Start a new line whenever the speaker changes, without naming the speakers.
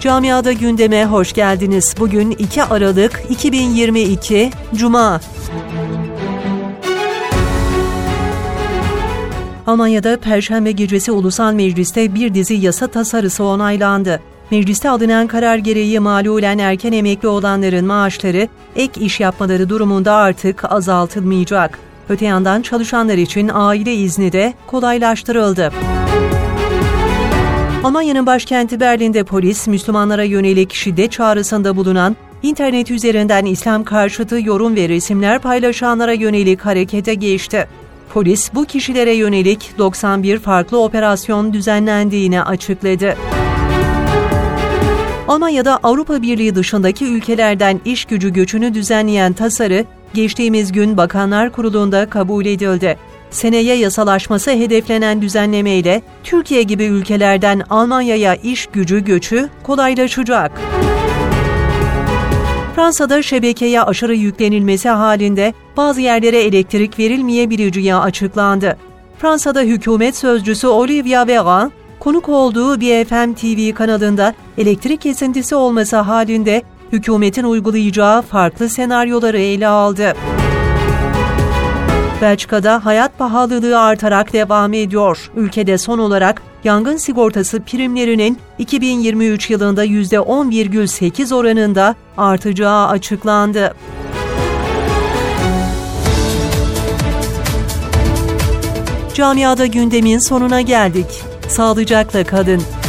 Camiada gündeme hoş geldiniz. Bugün 2 Aralık 2022 Cuma. Almanya'da Perşembe gecesi Ulusal Meclis'te bir dizi yasa tasarısı onaylandı. Mecliste alınan karar gereği malulen erken emekli olanların maaşları ek iş yapmaları durumunda artık azaltılmayacak. Öte yandan çalışanlar için aile izni de kolaylaştırıldı. Almanya'nın başkenti Berlin'de polis, Müslümanlara yönelik şiddet çağrısında bulunan, internet üzerinden İslam karşıtı yorum ve resimler paylaşanlara yönelik harekete geçti. Polis, bu kişilere yönelik 91 farklı operasyon düzenlendiğini açıkladı. Almanya'da Avrupa Birliği dışındaki ülkelerden iş gücü göçünü düzenleyen tasarı, geçtiğimiz gün Bakanlar Kurulu'nda kabul edildi. Seneye yasalaşması hedeflenen düzenlemeyle Türkiye gibi ülkelerden Almanya'ya iş gücü göçü kolaylaşacak. Fransa'da şebekeye aşırı yüklenilmesi halinde bazı yerlere elektrik verilmeyebileceği açıklandı. Fransa'da hükümet sözcüsü Olivier Véran, konuk olduğu BFM TV kanalında elektrik kesintisi olması halinde hükümetin uygulayacağı farklı senaryoları ele aldı. Belçika'da hayat pahalılığı artarak devam ediyor. Ülkede son olarak yangın sigortası primlerinin 2023 yılında %10,8 oranında artacağı açıklandı. Camiada gündemin sonuna geldik. Sağlıcakla kalın.